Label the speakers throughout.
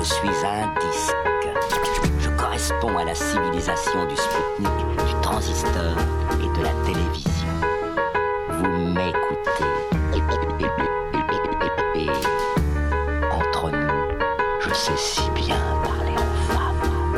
Speaker 1: Je suis un disque. Je corresponds à la civilisation du Spoutnik, du transistor et de la télévision. Vous m'écoutez. Et entre nous, je sais si bien parler aux femmes.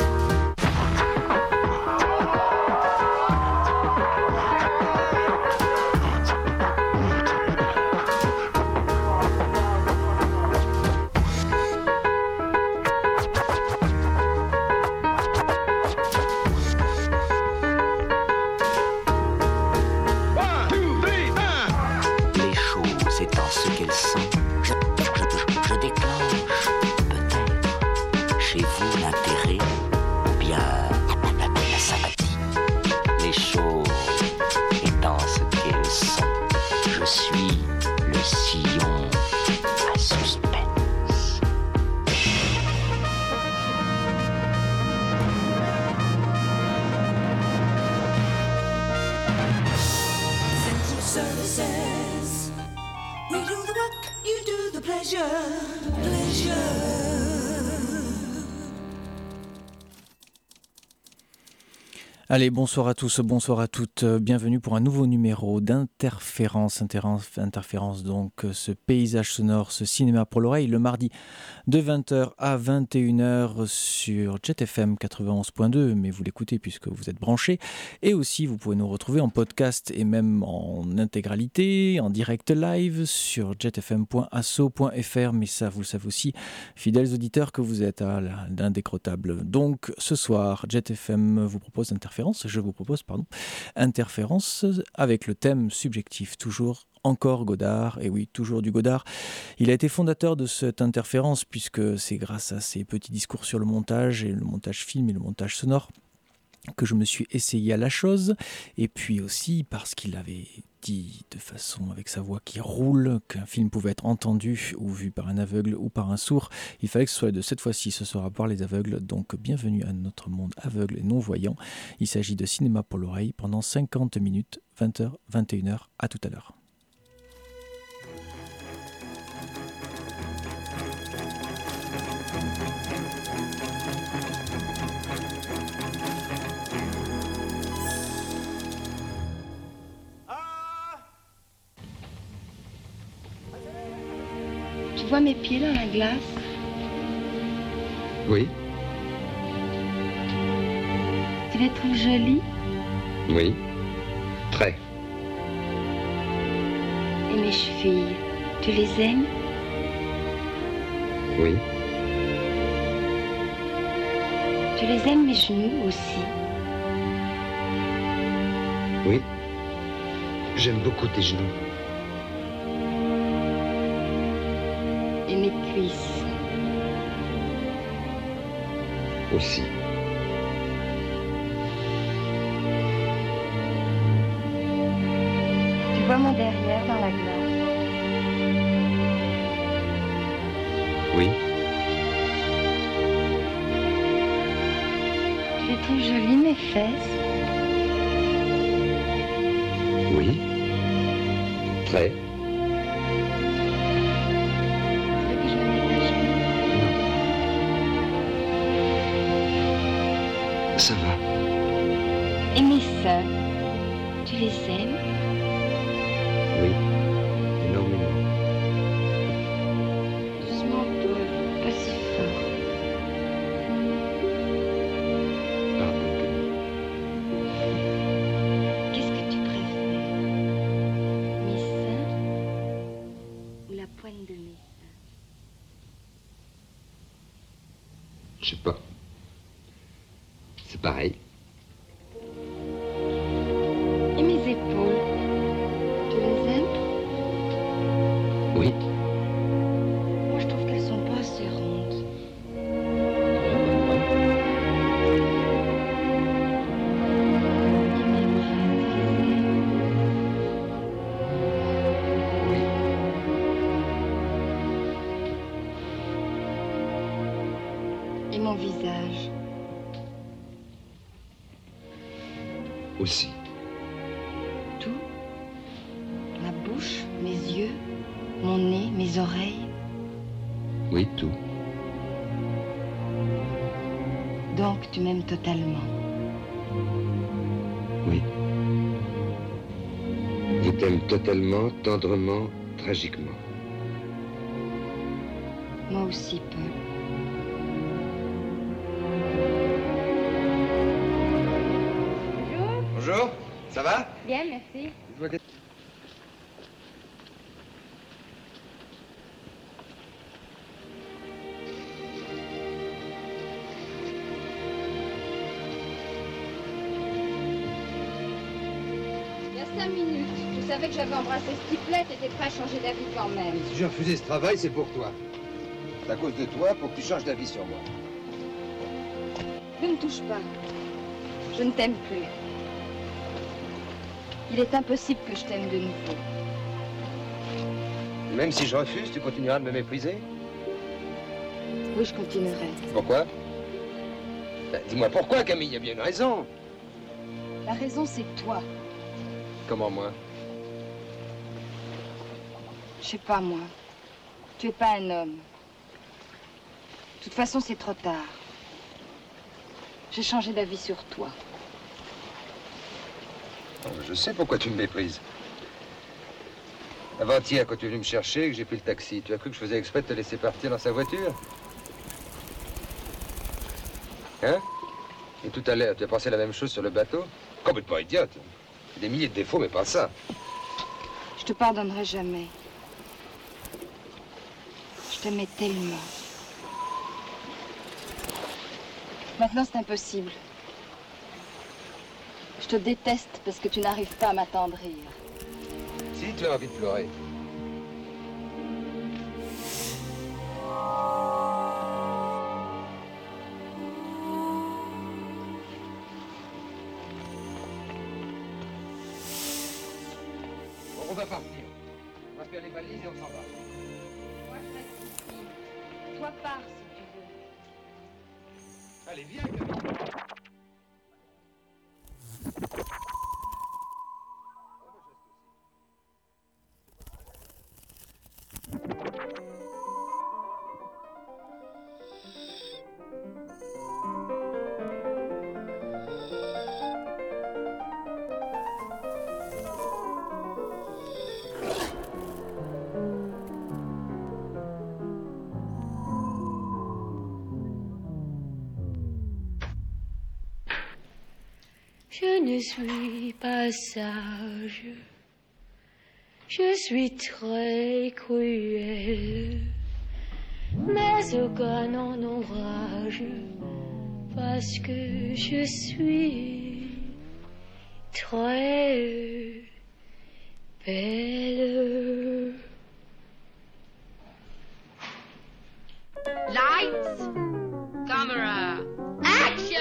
Speaker 2: Allez, bonsoir à tous, bonsoir à toutes, bienvenue pour un nouveau numéro d'Interférence, Interférence donc, ce paysage sonore, ce cinéma pour l'oreille, le mardi de 20h à 21h sur Jet FM 91.2, mais vous l'écoutez puisque vous êtes branchés, et aussi vous pouvez nous retrouver en podcast et même en intégralité, en direct live sur jetfm.asso.fr, mais ça vous le savez aussi, fidèles auditeurs que vous êtes à l'indécrottable. Donc ce soir, Jet FM vous propose Interférence avec le thème subjectif, toujours encore Godard, et oui, toujours du Godard. Il a été fondateur de cette interférence puisque c'est grâce à ses petits discours sur le montage, et le montage film et le montage sonore, que je me suis essayé à la chose, et puis aussi parce qu'il avait dit de façon avec sa voix qui roule qu'un film pouvait être entendu ou vu par un aveugle ou par un sourd. Il fallait que ce soit de cette fois-ci, ce sera par les aveugles, donc bienvenue à notre monde aveugle et non-voyant. Il s'agit de cinéma pour l'oreille pendant 50 minutes, 20h, 21h, à tout à l'heure.
Speaker 3: Tu vois mes pieds dans la glace?
Speaker 4: Oui.
Speaker 3: Tu les trouves jolis?
Speaker 4: Oui. Très.
Speaker 3: Et mes chevilles, tu les aimes?
Speaker 4: Oui.
Speaker 3: Tu les aimes mes genoux aussi?
Speaker 4: Oui. J'aime beaucoup tes genoux.
Speaker 3: Et mes cuisses.
Speaker 4: Aussi.
Speaker 3: Tu vois mon derrière dans la glace?
Speaker 4: Oui.
Speaker 3: Tu les trouves jolies mes fesses?
Speaker 4: Oui. Très. Ça va.
Speaker 3: Et mes seins, tu les aimes?
Speaker 4: Oui, énormément.
Speaker 3: Doucement, Paul, pas si fort.
Speaker 4: Pardon.
Speaker 3: Qu'est-ce que tu préfères? Mes seins ou la poigne de mes seins?
Speaker 4: Je sais pas. C'est pareil.
Speaker 3: Et mes épaules, tu les aimes?
Speaker 4: Oui.
Speaker 3: Moi, je trouve qu'elles sont pas assez rondes. Et mes bras, tu les aimes?
Speaker 4: Oui.
Speaker 3: Et mon visage?
Speaker 4: Aussi.
Speaker 3: Tout? Ma bouche, mes yeux, mon nez, mes oreilles?
Speaker 4: Oui, tout.
Speaker 3: Donc, tu m'aimes totalement.
Speaker 4: Oui. Je t'aime totalement, tendrement, tragiquement.
Speaker 3: Moi aussi, Paul.
Speaker 5: Bonjour, ça va?
Speaker 3: Bien, merci.
Speaker 6: Il y a 5 minutes, je savais que j'avais embrassé ce type-là, t'étais prêt à changer d'avis quand même.
Speaker 5: Si j'ai refusé ce travail, c'est pour toi. C'est à cause de toi pour que tu changes d'avis sur moi.
Speaker 6: Ne me touche pas. Je ne t'aime plus. Il est impossible que je t'aime de nouveau.
Speaker 5: Même si je refuse, tu continueras de me mépriser?
Speaker 6: Oui, je continuerai.
Speaker 5: Pourquoi? Ben, dis-moi pourquoi, Camille, il y a bien une raison.
Speaker 6: La raison, c'est toi.
Speaker 5: Comment moi?
Speaker 6: Je sais pas, moi. Tu es pas un homme. De toute façon, c'est trop tard. J'ai changé d'avis sur toi.
Speaker 5: Oh, je sais pourquoi tu me méprises. Avant-hier, quand tu es venu me chercher, que j'ai pris le taxi, tu as cru que je faisais exprès de te laisser partir dans sa voiture? Hein? Et tout à l'heure, tu as pensé la même chose sur le bateau? Complètement idiote. Des milliers de défauts, mais pas ça.
Speaker 6: Je te pardonnerai jamais. Je t'aimais tellement. Maintenant, c'est impossible. Je te déteste parce que tu n'arrives pas à m'attendrir.
Speaker 5: Si tu as envie de pleurer. Bon, on va partir. On va faire les valises et on s'en va.
Speaker 6: Moi, je reste ici. Toi, pars si tu veux.
Speaker 5: Allez, viens, Camille.
Speaker 7: Je ne suis pas sage, je suis très cruel, mais aucun n'en enrage, parce que je suis très belle.
Speaker 8: Lights, camera, action!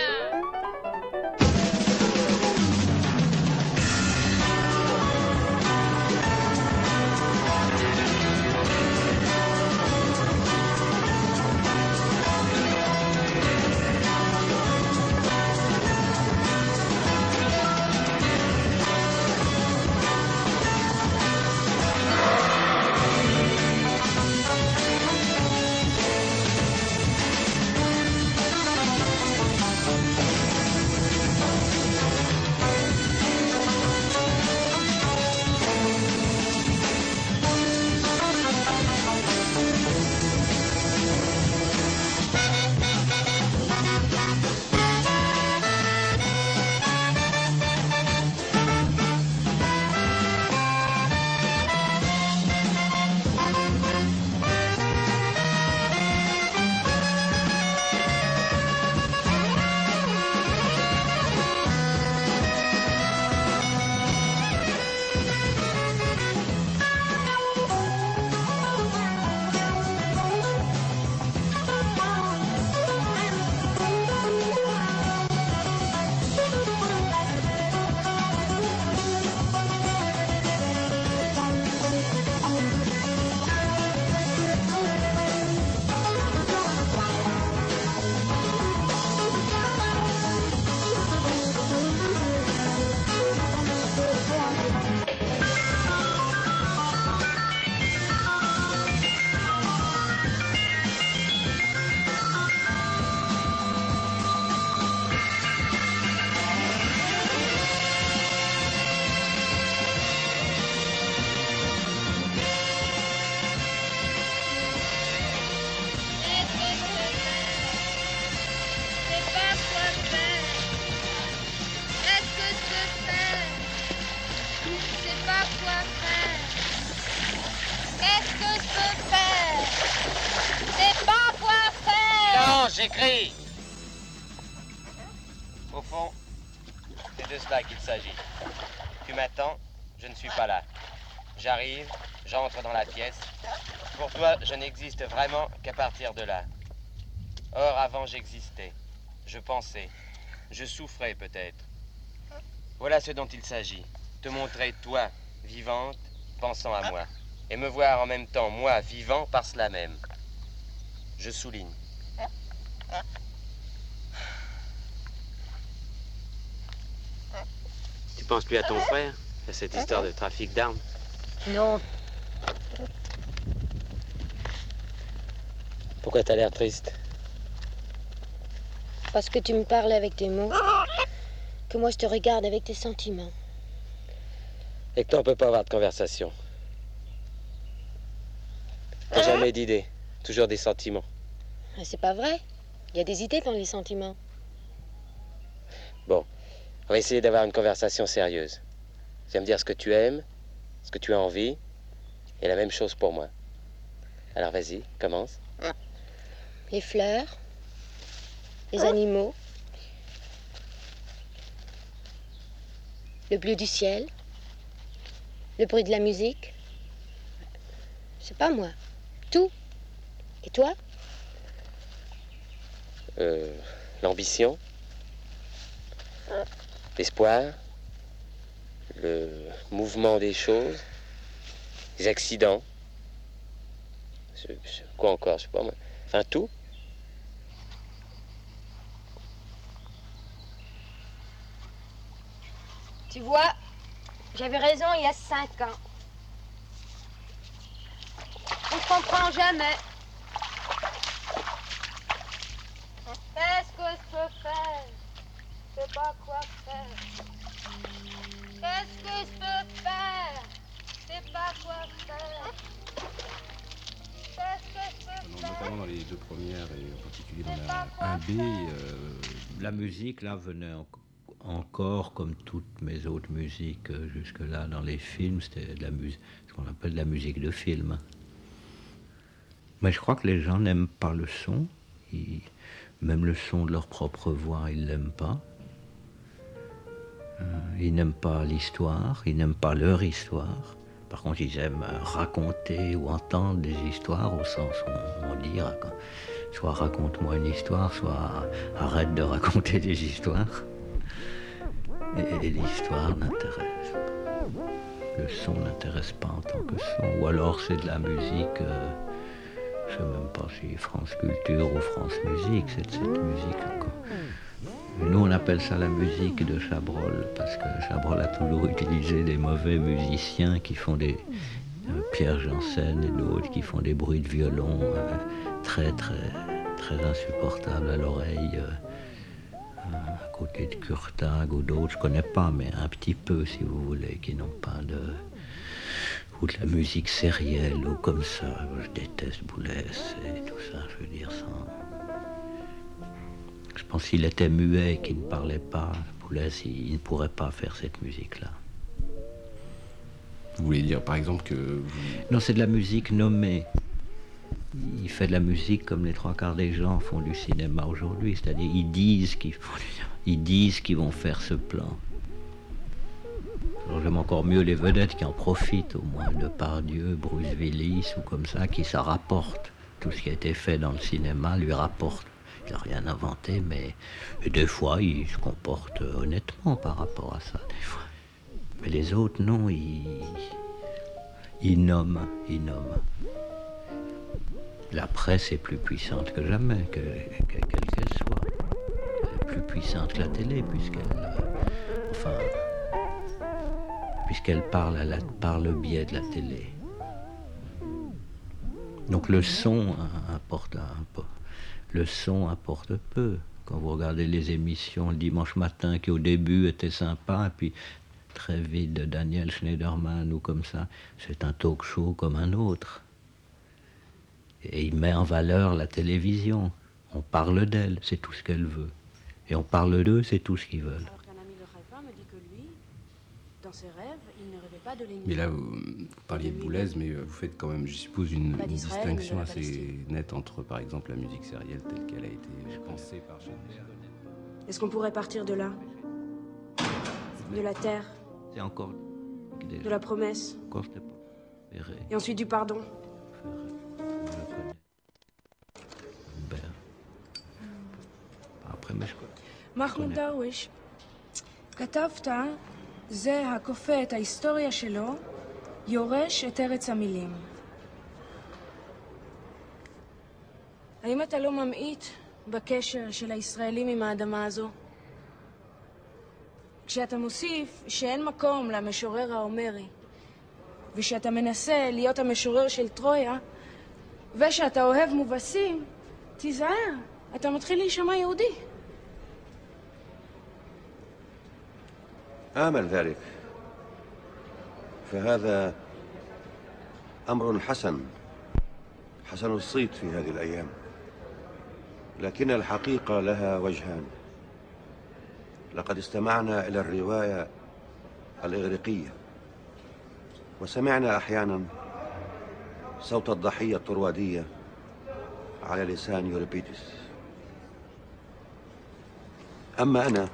Speaker 9: j'écris. Au fond, c'est de cela qu'il s'agit. Tu m'attends, je ne suis pas là. J'arrive, j'entre dans la pièce. Pour toi, je n'existe vraiment qu'à partir de là. Or, avant, j'existais. Je pensais. Je souffrais peut-être. Voilà ce dont il s'agit. Te montrer, toi, vivante, pensant à moi. Et me voir en même temps, moi, vivant, par cela même. Je souligne. Tu penses plus à ton frère, à cette histoire de trafic d'armes?
Speaker 7: Non.
Speaker 9: Pourquoi t'as l'air triste?
Speaker 7: Parce que tu me parles avec tes mots, que moi je te regarde avec tes sentiments.
Speaker 9: Et que toi, on peut pas avoir de conversation. T'as jamais d'idées, toujours des sentiments.
Speaker 7: C'est pas vrai. Il y a des idées dans les sentiments.
Speaker 9: Bon, on va essayer d'avoir une conversation sérieuse. Tu vas me dire ce que tu aimes, ce que tu as envie, et la même chose pour moi. Alors vas-y, commence.
Speaker 7: Les fleurs, les animaux, le bleu du ciel, le bruit de la musique. Je sais pas moi, tout. Et toi?
Speaker 9: L'ambition, l'espoir, le mouvement des choses, les accidents. Quoi encore, je sais pas moi. Enfin, tout.
Speaker 7: Tu vois, j'avais raison il y a 5 ans. On ne comprend jamais. Qu'est-ce que je peux faire? Je sais pas quoi faire. Qu'est-ce que je peux faire? Je sais pas quoi faire. Qu'est-ce que je peux faire?
Speaker 10: Notamment dans les deux premières et en particulier dans la 1B, la musique là venait encore comme toutes mes autres musiques jusque-là dans les films, c'était de la musique, ce qu'on appelle de la musique de film. Mais je crois que les gens n'aiment pas le son. Même le son de leur propre voix, ils l'aiment pas. Ils n'aiment pas l'histoire, ils n'aiment pas leur histoire. Par contre, ils aiment raconter ou entendre des histoires au sens où on dit soit raconte-moi une histoire, soit arrête de raconter des histoires. Et l'histoire n'intéresse pas. Le son n'intéresse pas en tant que son. Ou alors c'est de la musique... je ne sais même pas si France Culture ou France Musique, c'est de cette musique encore. Nous, on appelle ça la musique de Chabrol, parce que Chabrol a toujours utilisé des mauvais musiciens qui font des... Pierre Janssen et d'autres qui font des bruits de violon très, très, très insupportables à l'oreille. À côté de Kurtag ou d'autres, je ne connais pas, mais un petit peu, si vous voulez, qui n'ont pas de... ou de la musique sérielle, ou comme ça. Je déteste Boulez et tout ça, je veux dire, sans... Je pense qu'il était muet, qu'il ne parlait pas. Boulez, il ne pourrait pas faire cette musique-là.
Speaker 11: Vous voulez dire, par exemple, que...
Speaker 10: Non, c'est de la musique nommée. Il fait de la musique comme les 3/4 des gens font du cinéma aujourd'hui, c'est-à-dire ils disent qu'ils vont faire ce plan. Alors j'aime encore mieux les vedettes qui en profitent, au moins Depardieu, Bruce Willis ou comme ça, qui ça rapporte. Tout ce qui a été fait dans le cinéma lui rapporte. Il n'a rien inventé, mais des fois il se comporte honnêtement par rapport à ça. Des fois. Mais les autres, non, ils nomment. La presse est plus puissante que jamais, quelle qu'elle soit. Elle est plus puissante que la télé, puisqu'elle parle par le biais de la télé. Donc le son apporte un peu. Le son apporte peu. Quand vous regardez les émissions le dimanche matin qui au début étaient sympas, et puis très vite de Daniel Schneiderman ou comme ça, c'est un talk show comme un autre. Et il met en valeur la télévision. On parle d'elle, c'est tout ce qu'elle veut. Et on parle d'eux, c'est tout ce qu'ils veulent.
Speaker 12: Alors qu'un ami de Rêvin me dit que lui, dans ses rêves, il ne rêvait
Speaker 11: Mais là, vous parliez de Boulez, mais vous faites quand même, je suppose, une distinction assez nette entre, par exemple, la musique sérielle telle qu'elle a été pensée par Schoenberg.
Speaker 12: Est-ce qu'on pourrait partir de là? De la terre?
Speaker 10: C'est encore...
Speaker 12: De la promesse?
Speaker 10: Encore, c'était pas...
Speaker 12: Et ensuite du pardon?
Speaker 10: après משקול.
Speaker 12: מחמוד דרוויש, כתבת, זה הכופה את ההיסטוריה שלו, יורש את ארץ המילים. האם אתה לא ממעיט בקשר של הישראלים עם האדמה הזו? כשאתה מוסיף שאין מקום למשורר ההומרי, ושאתה מנסה להיות המשורר של טרויה, ושאתה אוהב מובסים, תיזהר, אתה מתחיל להישמע יהודי.
Speaker 13: آمل ذلك، فهذا أمر حسن الصيت في هذه الأيام، لكن الحقيقة لها وجهان. لقد استمعنا إلى الرواية الإغريقية وسمعنا أحيانا صوت الضحية الطروادية على لسان يوريبيدس. أما أنا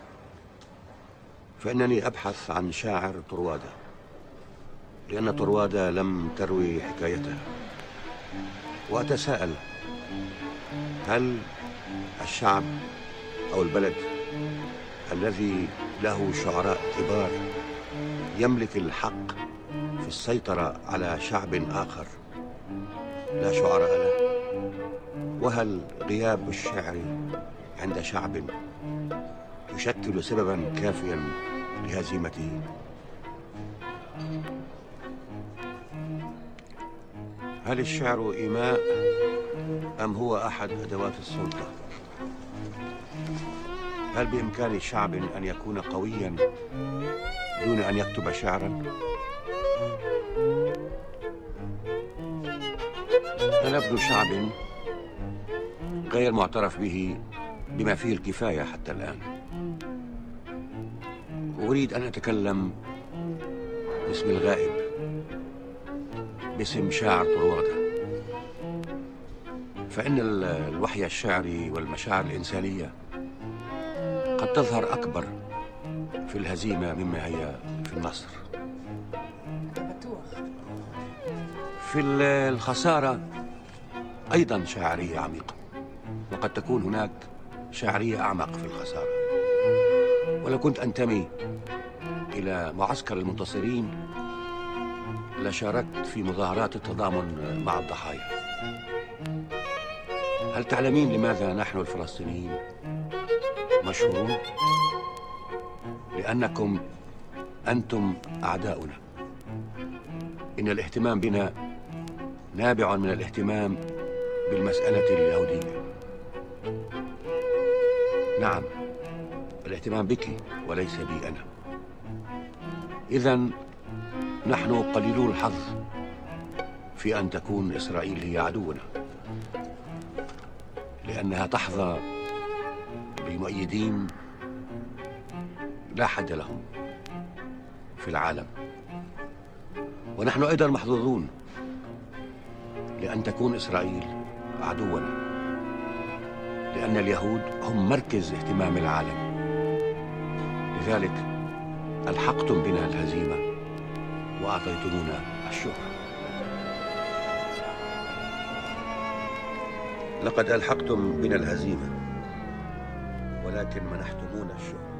Speaker 13: فإنني أبحث عن شاعر طروادة، لأن طروادة لم تروي حكايتها، وأتساءل هل الشعب أو البلد الذي له شعراء كبار يملك الحق في السيطرة على شعب آخر لا شعراء له؟ وهل غياب الشعر عند شعب يشكل سببا كافيا لهزيمته؟ هل الشعر إيماء أم هو أحد أدوات السلطة؟ هل بإمكان شعب أن يكون قويا دون أن يكتب شعرا؟ أنا ابن شعب غير معترف به بما فيه الكفاية حتى الآن. أريد أن أتكلم باسم الغائب، باسم شاعر طروادة، فإن الوحي الشعري والمشاعر الإنسانية قد تظهر أكبر في الهزيمة مما هي في النصر. في الخسارة أيضا شاعرية عميقة، وقد تكون هناك شاعرية أعمق في الخسارة. ولو كنت أنتمي إلى معسكر المنتصرين لشاركت في مظاهرات التضامن مع الضحايا. هل تعلمين لماذا نحن الفلسطينيين مشهورون؟ لأنكم أنتم أعداؤنا. إن الاهتمام بنا نابع من الاهتمام بالمسألة اليهودية. نعم، الاهتمام بك وليس بي أنا. إذن نحن قليلو الحظ في أن تكون إسرائيل هي عدونا، لأنها تحظى بمؤيدين لا حد لهم في العالم. ونحن أيضا محظوظون لأن تكون إسرائيل عدونا، لأن اليهود هم مركز اهتمام العالم. لذلك ألحقتم بنا الهزيمة وأعطيتمونا الشهرة. لقد ألحقتم بنا الهزيمة ولكن منحتمونا الشهرة.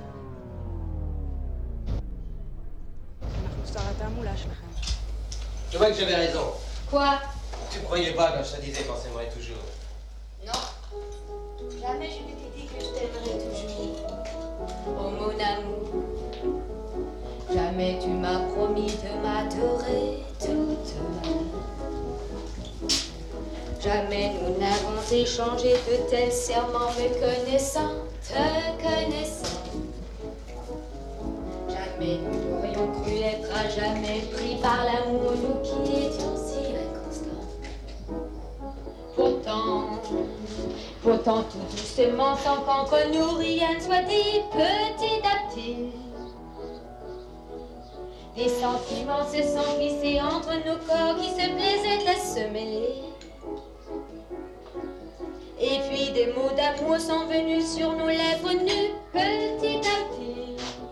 Speaker 9: Je vois que j'avais raison.
Speaker 7: Quoi?
Speaker 9: Tu croyais pas quand je te disais qu'on s'aimerait toujours?
Speaker 7: Non. Jamais je ne t'ai dit que je t'aimerais toujours. Oh mon amour, jamais tu m'as promis de m'adorer toute ma vie. Jamais nous n'avons échangé de tels serments me connaissant, te connaissant. Jamais nous n'aurions cru être à jamais pris par l'amour, nous qui étions si inconstants. Pourtant tout doucement, sans qu'entre nous rien ne soit dit, petit à petit, Les sentiments se sont glissés entre nos corps qui se plaisaient à se mêler. Et puis des mots d'amour sont venus sur nos lèvres nues, petit à petit.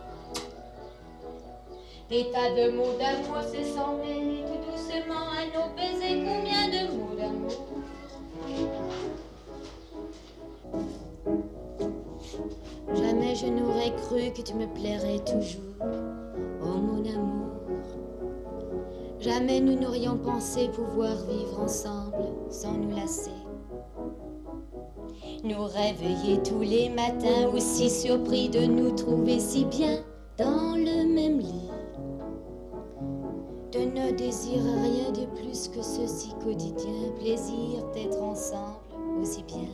Speaker 7: Des tas de mots d'amour se sont mêlés tout doucement à nos baisers. Combien de mots d'amour? Jamais je n'aurais cru que tu me plairais toujours, oh mon amour. Jamais nous n'aurions pensé pouvoir vivre ensemble sans nous lasser. Nous réveiller tous les matins, aussi surpris de nous trouver si bien dans le même lit. De ne désirer rien de plus que ce si quotidien plaisir d'être ensemble aussi bien.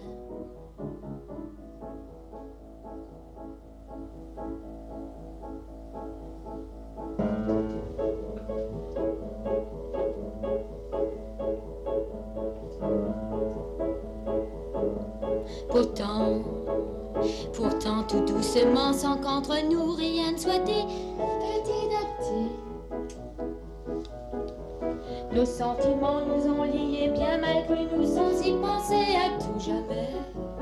Speaker 7: Pourtant, tout doucement, sans qu'entre nous rien ne soit dit, petit à petit. Nos sentiments nous ont liés bien malgré nous, sans y penser à tout jamais.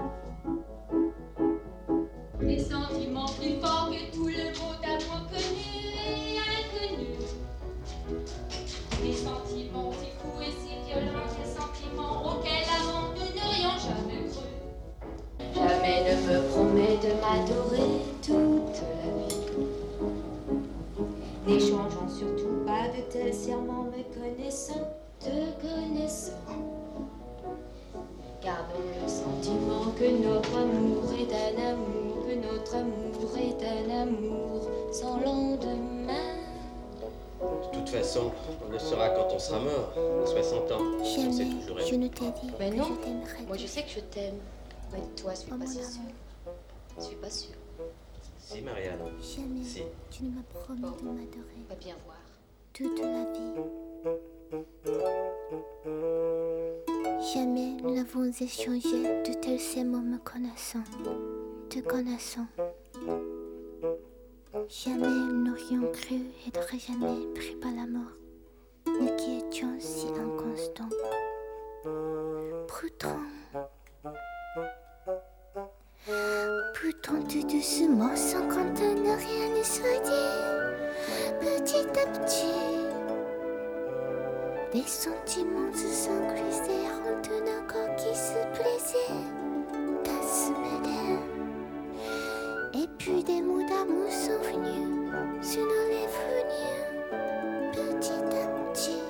Speaker 7: Des sentiments plus forts que tout le mot d'amour connu et inconnu. Des sentiments si fous et si violents, des sentiments auxquels avant nous n'aurions jamais cru. Jamais ne me promets de m'adorer toute la vie. N'échangeons surtout pas de tels serments, me connaissant, te connaissant. Gardons le sentiment que notre amour est un amour, que notre amour est un amour sans lendemain.
Speaker 14: De toute façon, on le saura quand on sera mort, à 60 ans.
Speaker 15: Jamais je ne t'ai dit
Speaker 7: Mais
Speaker 15: que
Speaker 7: non,
Speaker 15: je t'aimerais.
Speaker 7: moi je sais que je t'aime. Mais toi, je suis
Speaker 15: Oh,
Speaker 7: pas
Speaker 15: mon
Speaker 7: si
Speaker 15: amour.
Speaker 7: sûre. Je suis pas sûre.
Speaker 14: Si, Marianne.
Speaker 15: Jamais
Speaker 14: Si.
Speaker 15: tu ne m'as promis de m'adorer
Speaker 7: On va bien voir.
Speaker 15: toute la vie. Jamais nous n'avons échangé de tels ces mots me connaissant, te connaissant. Jamais nous n'aurions cru être jamais pris par la mort, nous qui étions si inconstants. Pourtant tout doucement, sans qu'entendre rien ne soit dit, petit à petit, des sentiments se sont glissés entre nos corps qui se plaisaient à se mêler. Et puis des mots d'amour sont venus sur nos lèvres nues, petit à petit.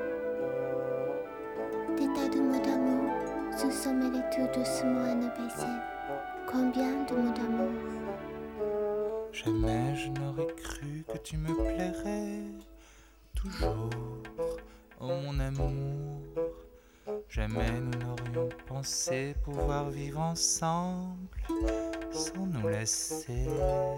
Speaker 15: Des tas de mots d'amour se sont mêlés tout doucement à nos baisers. Combien de mots d'amour?
Speaker 16: Jamais je n'aurais cru que tu me plairais toujours, oh mon amour. Jamais nous n'aurions pensé pouvoir vivre ensemble sans nous lasser.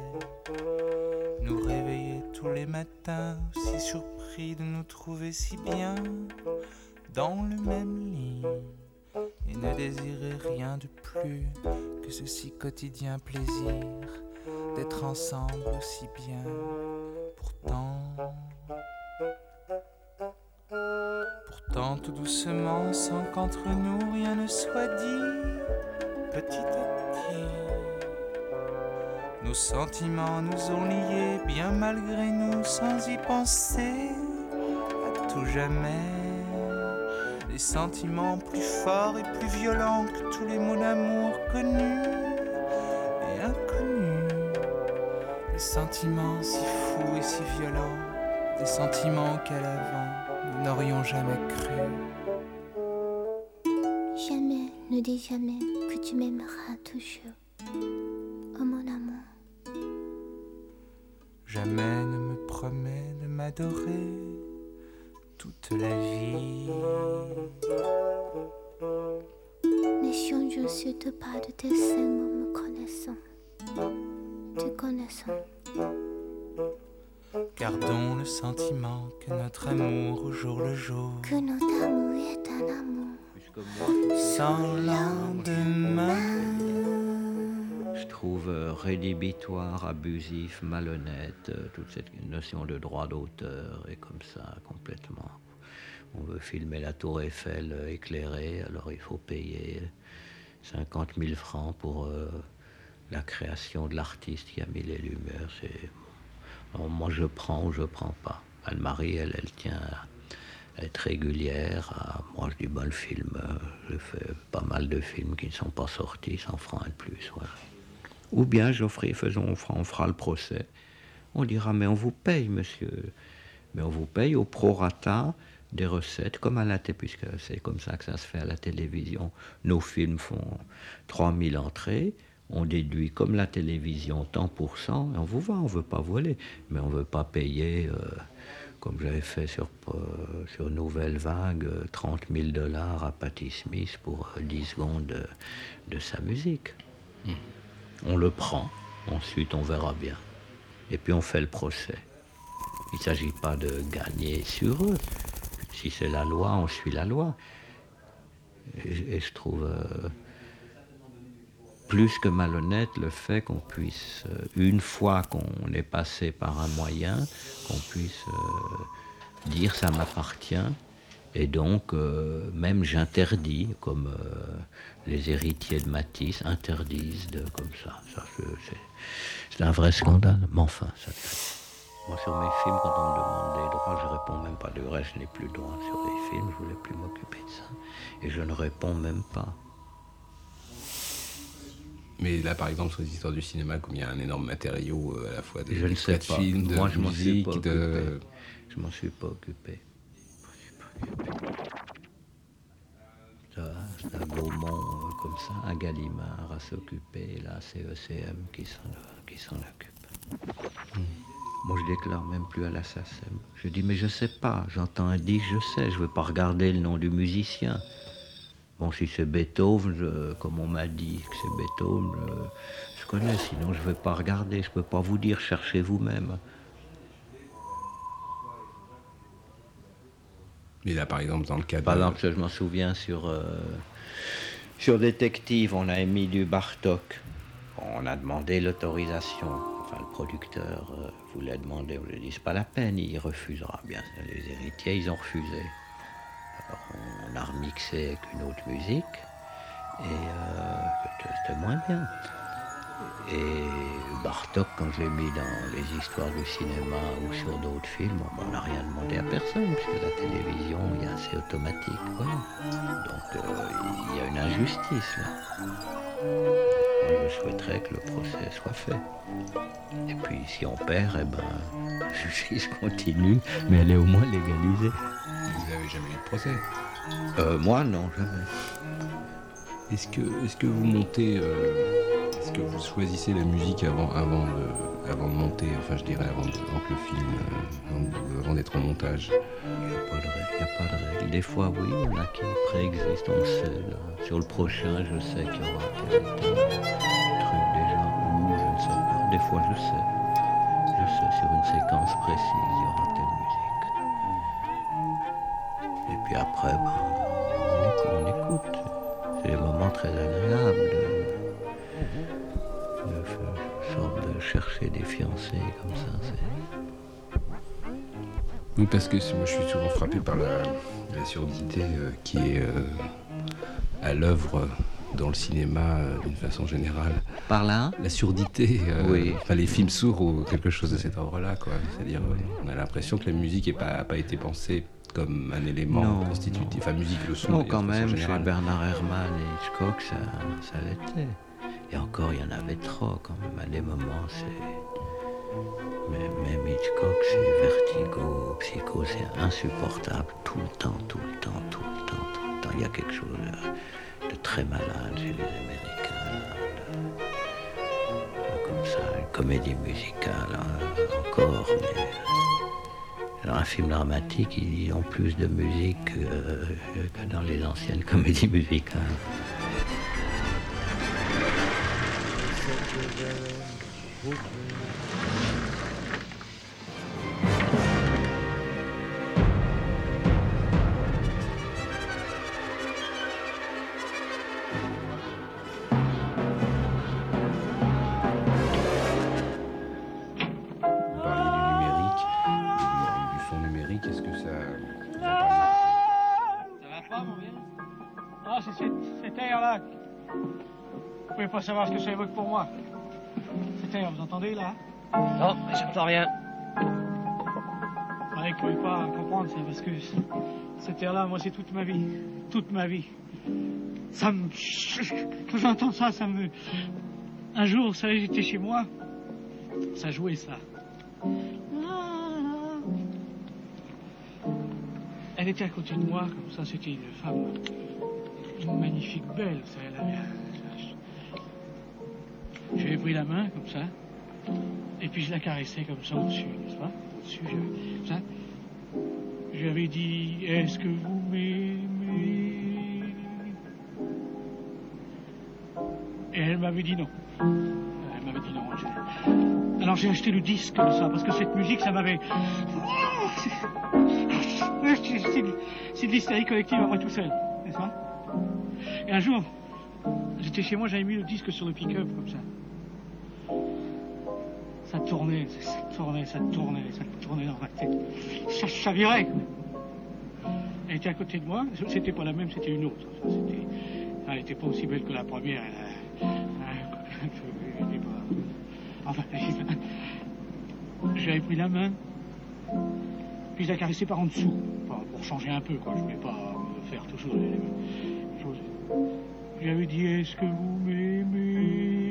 Speaker 16: Nous réveiller tous les matins, aussi surpris de nous trouver si bien dans le même lit. Et ne désirer rien de plus que ce si quotidien plaisir d'être ensemble aussi bien. Pourtant tout doucement, sans qu'entre nous rien ne soit dit, petit à petit, nos sentiments nous ont liés bien malgré nous, sans y penser à tout jamais. Les sentiments plus forts et plus violents que tous les mots d'amour connus et inconnus. Des sentiments si fous et si violents, des sentiments auxquels avant nous n'aurions jamais cru.
Speaker 15: Jamais, ne dis jamais que tu m'aimeras toujours, oh mon amour.
Speaker 16: Jamais ne me promets de m'adorer toute la vie.
Speaker 15: N'échangeons surtout pas de tes seuls mots me connaissant, te connaissant.
Speaker 16: Gardons le sentiment que notre amour au jour le jour,
Speaker 15: que notre amour est un amour
Speaker 16: sans lendemain.
Speaker 10: trouve rédhibitoire, abusif, malhonnête. Toute cette notion de droit d'auteur est comme ça, complètement. On veut filmer la Tour Eiffel éclairée, alors il faut payer 50 000 francs pour la création de l'artiste qui a mis les lumières. Alors, moi, je prends ou je prends pas. Anne-Marie, elle tient à être régulière. Moi, je dis, le film, je fais pas mal de films qui ne sont pas sortis, 100 francs et de plus. Voilà. Ou bien, on fera le procès. On dira, mais on vous paye, monsieur. Mais on vous paye au prorata des recettes, comme à la télé, puisque c'est comme ça que ça se fait à la télévision. Nos films font 3000 entrées, on déduit comme la télévision tant pour cent, et on vous vend, on ne veut pas voler, mais on ne veut pas payer, comme j'avais fait sur Nouvelle Vague, $30 000 à Patti Smith pour 10 secondes de sa musique. On le prend, ensuite on verra bien. Et puis on fait le procès. Il ne s'agit pas de gagner sur eux. Si c'est la loi, on suit la loi. Et je trouve plus que malhonnête le fait qu'on puisse, une fois qu'on est passé par un moyen, qu'on puisse dire ça m'appartient. Et donc, même j'interdis, comme les héritiers de Matisse interdisent comme ça. C'est un vrai scandale. Mais enfin, ça fait. Moi, sur mes films, quand on me demande des droits, je réponds même pas. Du reste, je n'ai plus de droits sur les films, je voulais plus m'occuper de ça. Et je ne réponds même pas.
Speaker 11: Mais là, par exemple, sur les histoires du cinéma, comme il y a un énorme matériau à la fois de
Speaker 10: films, de
Speaker 11: moi, musique,
Speaker 10: je m'en suis pas occupé. C'est un Gaumont comme ça, un Gallimard à s'occuper, là, c'est ECM qui s'en occupe. Moi, je déclare même plus à la SACEM. Je dis, mais je sais pas, j'entends un disque, je sais, je veux pas regarder le nom du musicien. Bon, si c'est Beethoven, comme on m'a dit que c'est Beethoven, je connais, sinon je vais pas regarder, je peux pas vous dire, cherchez vous-même.
Speaker 11: Mais là, par exemple, dans le cas
Speaker 10: Par exemple, je m'en souviens sur Détective, on a émis du Bartók. On a demandé l'autorisation. Enfin, le producteur voulait demander. On lui a dit, c'est pas la peine, il refusera. Bien, les héritiers, ils ont refusé. Alors, on a remixé avec une autre musique. Et c'était moins bien. Et Bartók, quand je l'ai mis dans les histoires du cinéma ou sur d'autres films, on n'a rien demandé à personne, puisque la télévision, c'est automatique. Voilà. Donc, il y a une injustice, là. Moi, je souhaiterais que le procès soit fait. Et puis, si on perd, la justice continue, mais elle est au moins légalisée.
Speaker 11: Vous n'avez jamais eu de procès
Speaker 10: Moi, non, jamais.
Speaker 11: Est-ce que vous montez... Est-ce que vous choisissez la musique avant de monter, enfin je dirais avant que le film, avant d'être en montage?
Speaker 10: Il n'y a pas de règle. Des fois oui, il y en a qui préexistent, on sait. Là. Sur le prochain, je sais qu'il y aura tel truc déjà, ou je ne sais pas. Des fois je sais. Je sais, sur une séquence précise, il y aura telle musique. Et puis après, on écoute. C'est des moments très agréables de chercher des fiancés comme ça.
Speaker 11: Oui, parce que moi je suis souvent frappé par la surdité qui est à l'œuvre dans le cinéma d'une façon générale.
Speaker 10: Par là ?
Speaker 11: La surdité,
Speaker 10: oui.
Speaker 11: Enfin, les films sourds ou quelque chose de cet ordre-là, quoi. C'est-à-dire, on a l'impression que la musique n'a pas été pensée comme un élément constitutif. Enfin, musique, le son.
Speaker 10: Non, quand même, chez Bernard Herrmann et Hitchcock, ça l'était. Et encore, il y en avait trop, quand même. À des moments, même Hitchcock, c'est Vertigo, Psycho, c'est insupportable. Tout le temps. Il y a quelque chose de très malade chez les Américains. Comme ça, une comédie musicale, encore, mais... Dans un film dramatique, ils ont plus de musique que dans les anciennes comédies musicales.
Speaker 17: Ah, c'est cet air-là. Vous pouvez pas savoir ce que ça évoque pour moi. Cet air, vous entendez, là?
Speaker 9: Non, j'entends rien.
Speaker 17: Vous ne pouvez pas comprendre, c'est parce que cet air-là, moi, c'est toute ma vie. Toute ma vie. Ça me... Quand j'entends ça, ça me... Un jour, vous savez, j'étais chez moi. Ça jouait, ça. Elle était à côté de moi, comme ça, c'était une femme... Une magnifique belle, ça, elle avait... Je lui ai pris la main, comme ça. Et puis je la caressais comme ça au-dessus, n'est-ce pas? Au-dessus, ça. Je lui avais dit, est-ce que vous m'aimez? Et elle m'avait dit non. Elle m'avait dit non. Alors j'ai acheté le disque de ça, parce que cette musique, ça m'avait... C'est de l'hystérie collective à moi tout seul, n'est-ce pas? Et un jour, j'étais chez moi, j'avais mis le disque sur le pick-up, comme ça. Ça tournait dans ma tête. Ça virait. Elle était à côté de moi. C'était pas la même, c'était une autre. Elle n'était pas aussi belle que la première. Enfin, j'avais pris la main, puis je la caressais par en dessous, pour changer un peu, quoi. Je voulais pas faire toujours les mêmes choses. Je lui avais dit, est-ce que vous m'aimez?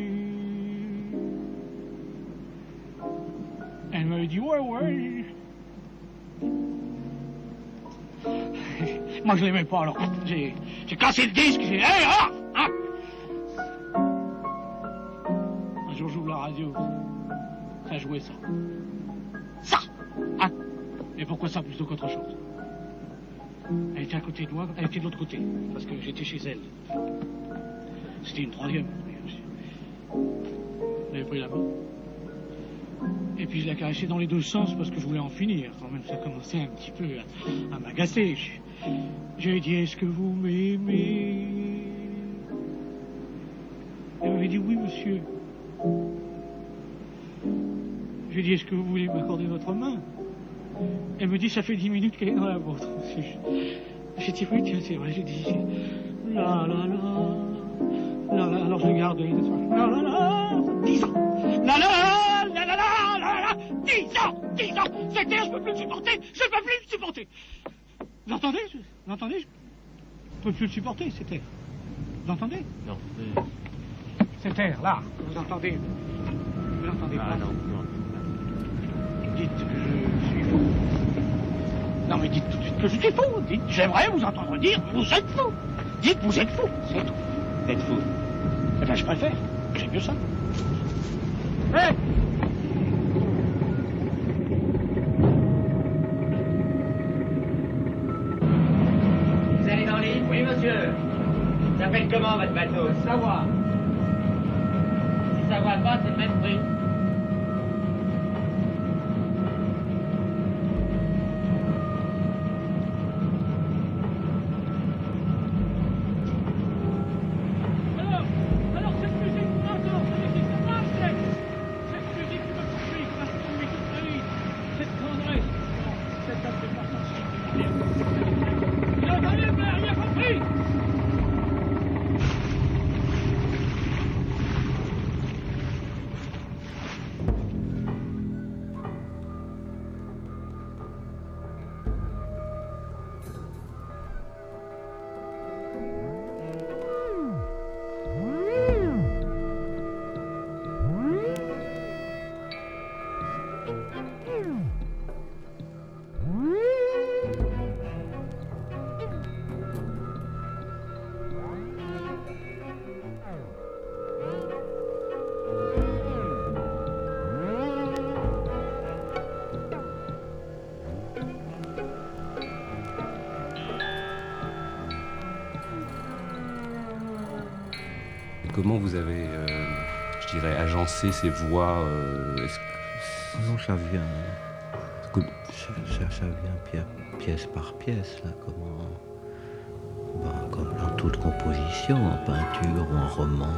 Speaker 17: Elle m'avait dit, ouais. Moi, je l'aimais pas, alors j'ai cassé le disque, j'ai dit, hey, hein. Un jour, j'ouvre la radio, ça jouait ça. Ça, hein. Et pourquoi ça plutôt qu'autre chose? Elle était à côté de moi, elle était de l'autre côté, parce que j'étais chez elle. C'était une troisième. J'avais pris la main. Et puis je la caressais dans les deux sens parce que je voulais en finir. Quand même, ça commençait un petit peu à m'agacer. Je lui ai dit, est-ce que vous m'aimez? Elle m'avait dit, oui, monsieur. Je lui ai dit, est-ce que vous voulez m'accorder votre main? Elle me dit, ça fait 10 minutes qu'elle est dans la vôtre. J'ai dit, oui, tiens, c'est vrai. J'ai dit, la. Alors je regardais. La. 10 ans. La. 10 ans. Cet air, je peux plus le supporter. Vous entendez? Je peux plus le supporter, cet air. Vous entendez?
Speaker 9: Non.
Speaker 17: Cet air, là, vous entendez? Vous l'entendez pas?
Speaker 9: Non.
Speaker 17: Dites que je suis fou. Non, mais dites tout de suite que je suis fou. Dites, j'aimerais vous entendre dire, vous êtes fou. Dites, vous êtes fou. C'est tout. Vous êtes fou. Eh bien, je préfère. J'aime mieux ça. Hé!
Speaker 9: Vous allez dans l'île? Oui, monsieur. Ça s'appelle comment, votre bateau?
Speaker 17: Savoir.
Speaker 9: Si ça va pas, c'est le même prix.
Speaker 17: Alors, cette musique, encore, c'est ma tête. Cette musique qui me poursuit, qui m'a poursuivi toute ma vie. Cette tendresse, cette absence. Vous entendez, vous n'avez rien compris.
Speaker 11: Comment vous avez, je dirais, agencé ces voix
Speaker 10: Non, ça vient. Ça vient pièce par pièce, là, comme dans toute composition, en peinture ou en roman.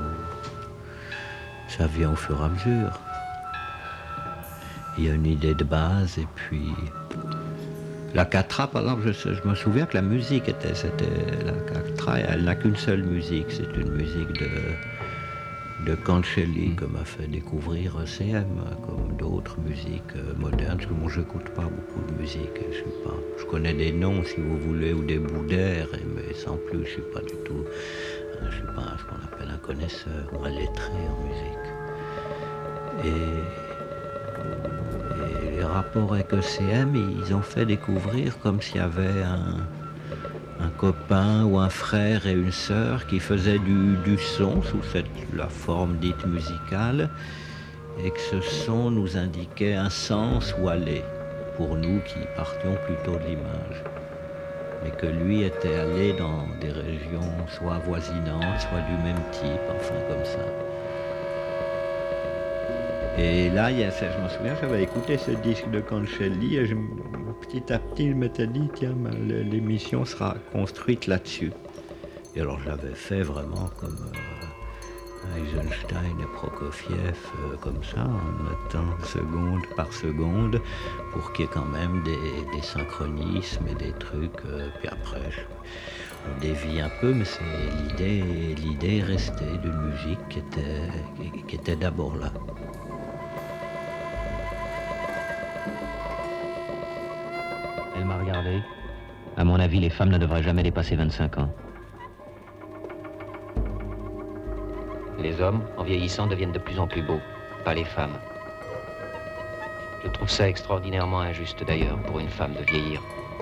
Speaker 10: Ça vient au fur et à mesure. Il y a une idée de base et puis La Catra, par exemple, je me souviens que la musique c'était la Catra, elle n'a qu'une seule musique, c'est une musique de Cancelli que m'a fait découvrir CM, comme d'autres musiques modernes, parce que moi je n'écoute pas beaucoup de musique, je connais des noms si vous voulez, ou des bouts d'air, mais sans plus, je ne suis pas du tout, je suis pas ce qu'on appelle un connaisseur ou un lettré en musique. Et les rapports avec ECM, ils ont fait découvrir comme s'il y avait un copain ou un frère et une sœur qui faisaient du son sous la forme dite musicale, et que ce son nous indiquait un sens où aller, pour nous qui partions plutôt de l'image. Mais que lui était allé dans des régions soit avoisinantes, soit du même type, enfin comme ça. Et là, je me souviens, j'avais écouté ce disque de Cancelli et petit à petit, je m'étais dit, tiens, l'émission sera construite là-dessus. Et alors, je l'avais fait vraiment comme Eisenstein et Prokofiev, comme ça, en mettant seconde par seconde, pour qu'il y ait quand même des synchronismes et des trucs. Puis après, on dévie un peu, mais l'idée est restée d'une musique qui était d'abord là.
Speaker 18: Elle m'a regardé. À mon avis, les femmes ne devraient jamais dépasser 25 ans. Les hommes, en vieillissant, deviennent de plus en plus beaux, pas les femmes. Je trouve ça extraordinairement injuste d'ailleurs pour une femme de vieillir.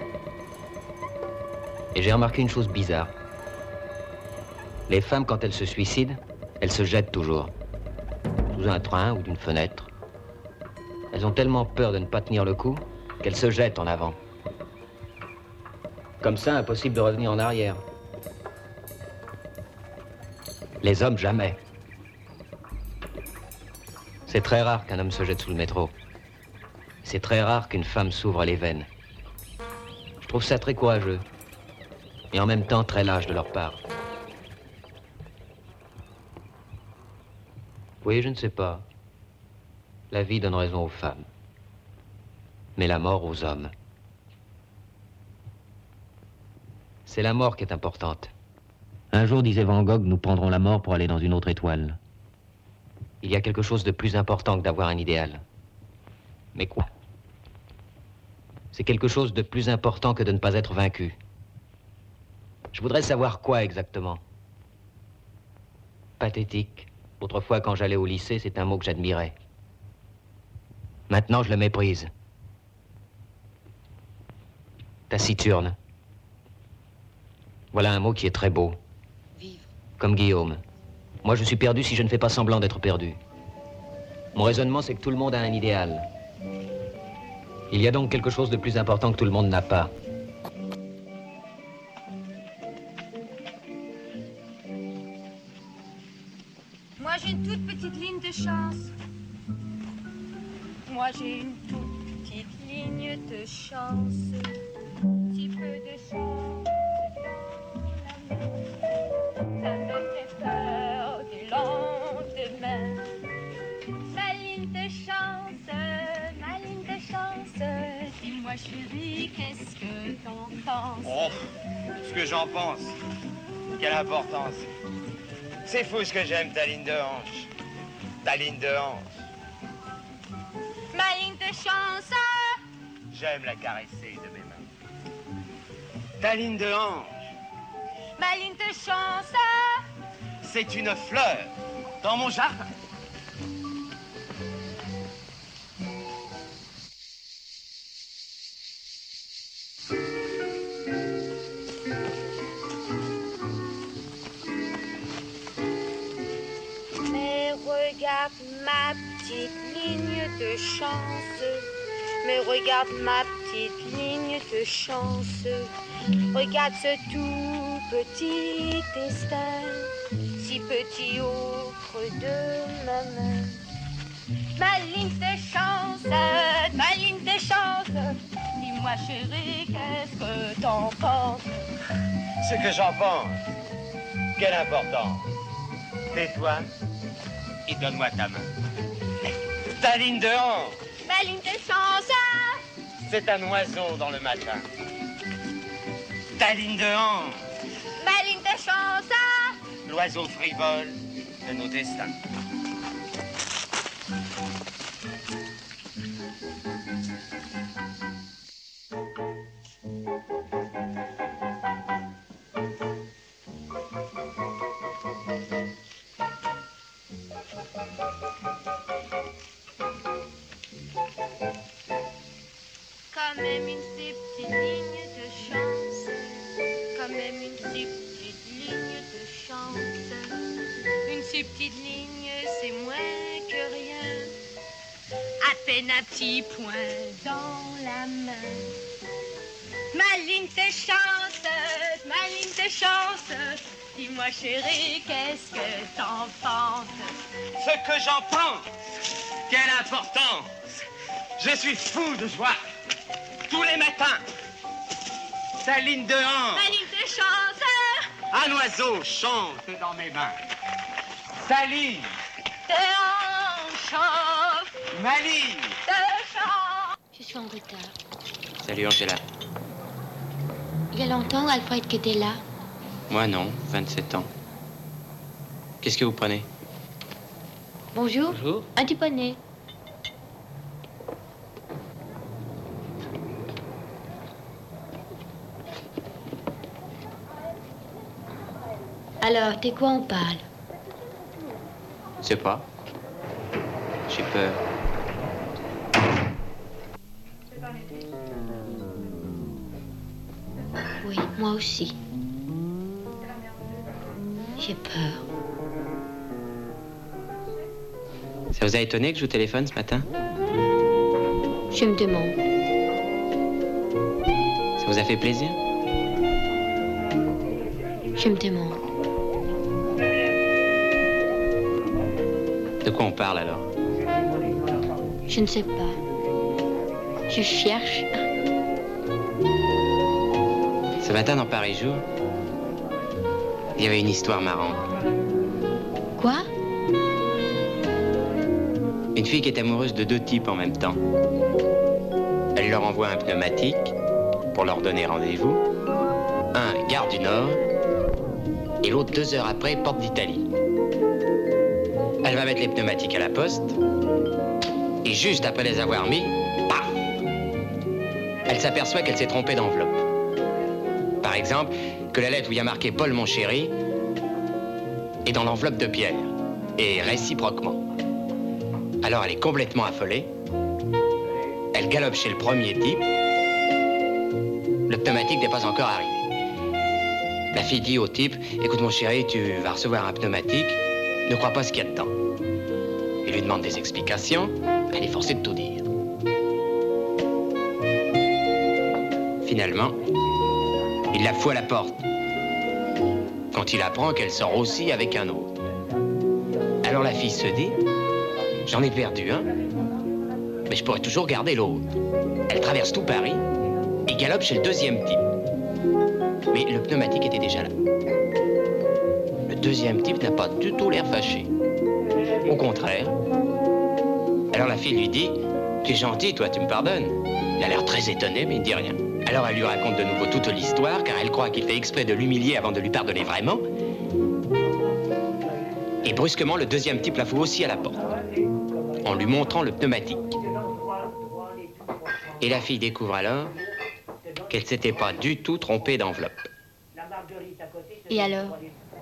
Speaker 18: Et j'ai remarqué une chose bizarre. Les femmes, quand elles se suicident, elles se jettent toujours. Sous un train ou d'une fenêtre. Elles ont tellement peur de ne pas tenir le coup qu'elles se jettent en avant. Comme ça, impossible de revenir en arrière. Les hommes, jamais. C'est très rare qu'un homme se jette sous le métro. C'est très rare qu'une femme s'ouvre les veines. Je trouve ça très courageux. Et en même temps très lâche de leur part. Oui, je ne sais pas. La vie donne raison aux femmes. Mais la mort aux hommes. C'est la mort qui est importante. Un jour, disait Van Gogh, nous prendrons la mort pour aller dans une autre étoile. Il y a quelque chose de plus important que d'avoir un idéal. Mais quoi? C'est quelque chose de plus important que de ne pas être vaincu. Je voudrais savoir quoi exactement. Pathétique. Autrefois, quand j'allais au lycée, c'est un mot que j'admirais. Maintenant, je le méprise. Taciturne. Voilà un mot qui est très beau. Vivre. Comme Guillaume. Moi, je suis perdu si je ne fais pas semblant d'être perdu. Mon raisonnement, c'est que tout le monde a un idéal. Il y a donc quelque chose de plus important que tout le monde n'a pas.
Speaker 7: Moi, j'ai une toute petite ligne de chance. Moi, j'ai une toute petite ligne de chance. Si peu de chance. Ça me fait peur du lendemain. Ma ligne de chance, dis-moi chérie, qu'est-ce que t'en penses?
Speaker 9: Oh, ce que j'en pense, quelle importance. C'est fou ce que j'aime ta ligne de hanche. Ta ligne de hanche.
Speaker 7: Ma ligne de chance.
Speaker 9: J'aime la caresser de mes mains. Ta ligne de hanche.
Speaker 7: Ma ligne de chance.
Speaker 9: C'est une fleur dans mon jardin.
Speaker 7: Mais regarde ma petite ligne de chance. Mais regarde ma petite ligne de chance. Regarde ce tout petit destin, si petit au creux de ma main. Ma ligne de chance, ma ligne de chance. Dis-moi chérie, qu'est-ce que t'en penses?
Speaker 9: Ce que j'en pense, quelle importance. Tais-toi et donne-moi ta main. Ta ligne de hanche.
Speaker 7: Ma ligne de chance.
Speaker 9: c'est un oiseau dans le matin. Ta ligne de hanche.
Speaker 7: Ma ligne de chance.
Speaker 9: L'oiseau frivole de nos destins.
Speaker 8: Quand même une si petite ligne de chance, quand même une si petite ligne de chance. Une si petite ligne, c'est moins que rien. À peine un petit point dans la main. Ma ligne de chance, ma ligne de chance. Dis-moi chérie, qu'est-ce que t'en penses?
Speaker 9: Ce que j'en pense, quelle importance! Je suis fou de joie. Tous les matins, ta ligne de hanche.
Speaker 8: Ma ligne de chance.
Speaker 9: Un oiseau chante dans mes mains. Ta ligne
Speaker 8: De hanche.
Speaker 9: ma ligne.
Speaker 8: De chance.
Speaker 7: Je suis en retard.
Speaker 18: Salut Angela.
Speaker 7: Il y a longtemps, Alfred, que t'es là.
Speaker 18: Moi non, 27 ans. Qu'est-ce que vous prenez?
Speaker 7: Bonjour.
Speaker 18: Bonjour.
Speaker 7: Un petit poney. Alors, t'es quoi on parle?
Speaker 18: Je sais pas. J'ai peur.
Speaker 7: Oui, moi aussi. J'ai peur.
Speaker 18: Ça vous a étonné que je vous téléphone ce matin?
Speaker 7: Je me demande.
Speaker 18: Ça vous a fait plaisir?
Speaker 7: Je me demande.
Speaker 18: De quoi on parle alors?
Speaker 7: Je ne sais pas. Je cherche.
Speaker 18: Ce matin dans Paris Jour, il y avait une histoire marrante.
Speaker 7: Quoi?
Speaker 18: Une fille qui est amoureuse de deux types en même temps. Elle leur envoie un pneumatique pour leur donner rendez-vous. Un, gare du Nord, et l'autre 2 heures après, porte d'Italie. Elle va mettre les pneumatiques à la poste, et juste après les avoir mis, paf! Elle s'aperçoit qu'elle s'est trompée d'enveloppe. Par exemple, que la lettre où il y a marqué Paul mon chéri est dans l'enveloppe de Pierre, et réciproquement. Alors elle est complètement affolée. Elle galope chez le premier type. Le pneumatique n'est pas encore arrivé. La fille dit au type, écoute mon chéri, tu vas recevoir un pneumatique, ne crois pas ce qu'il y a dedans. Il lui demande des explications, elle est forcée de tout dire. Finalement, il la fout à la porte. Quand il apprend qu'elle sort aussi avec un autre. Alors la fille se dit, j'en ai perdu un, mais je pourrais toujours garder l'autre. Elle traverse tout Paris et galope chez le deuxième type. Mais le pneumatique était déjà là. Le deuxième type n'a pas du tout l'air fâché. Au contraire. Alors la fille lui dit, tu es gentil, toi, tu me pardonnes. Il a l'air très étonné, mais il ne dit rien. Alors elle lui raconte de nouveau toute l'histoire, car elle croit qu'il fait exprès de l'humilier avant de lui pardonner vraiment. Et brusquement, le deuxième type la fout aussi à la porte, en lui montrant le pneumatique. Et la fille découvre alors qu'elle s'était pas du tout trompée d'enveloppe.
Speaker 7: Et alors?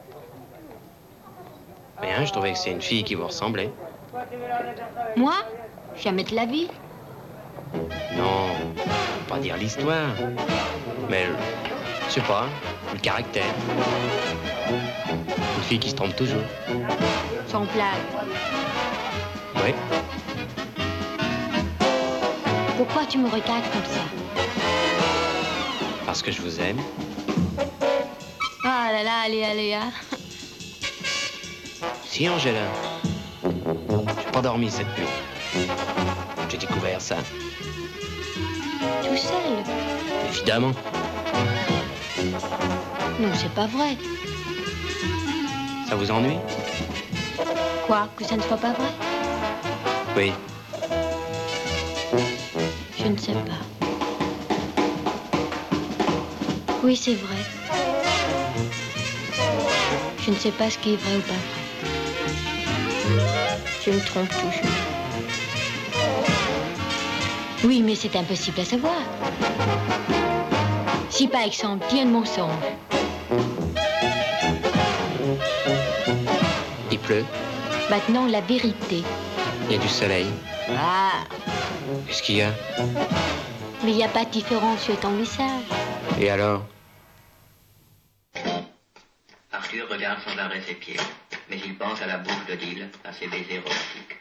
Speaker 18: Bien, je trouvais que c'est une fille qui vous ressemblait.
Speaker 7: Moi? Jamais de la vie.
Speaker 18: Non, pas dire l'histoire, mais je sais pas, le caractère. Une fille qui se trompe toujours.
Speaker 7: Sans blague.
Speaker 18: Oui.
Speaker 7: Pourquoi tu me regardes comme ça?
Speaker 18: Parce que je vous aime.
Speaker 7: Ah là là, allez, allez, hein.
Speaker 18: Si, Angela. J'ai pas dormi cette nuit. J'ai découvert ça.
Speaker 7: Tout seul?
Speaker 18: Évidemment.
Speaker 7: Non, c'est pas vrai.
Speaker 18: Ça vous ennuie?
Speaker 7: Quoi? Que ça ne soit pas vrai?
Speaker 18: Oui.
Speaker 7: Je ne sais pas.
Speaker 3: Oui, c'est vrai. Je ne sais pas ce qui est vrai ou pas vrai. Je me trompe toujours. Oui, mais c'est impossible à savoir. Si par exemple, il y a un mensonge.
Speaker 18: Il pleut,
Speaker 3: Maintenant, la vérité.
Speaker 18: il y a du soleil.
Speaker 3: Ah,
Speaker 18: Qu'est-ce qu'il y a?
Speaker 3: mais il n'y a pas de différence sur ton visage.
Speaker 18: Et alors?
Speaker 10: Arthur regarde sans arrêt ses pieds, mais il pense à la bouche d'Odile, à ses baisers romantiques.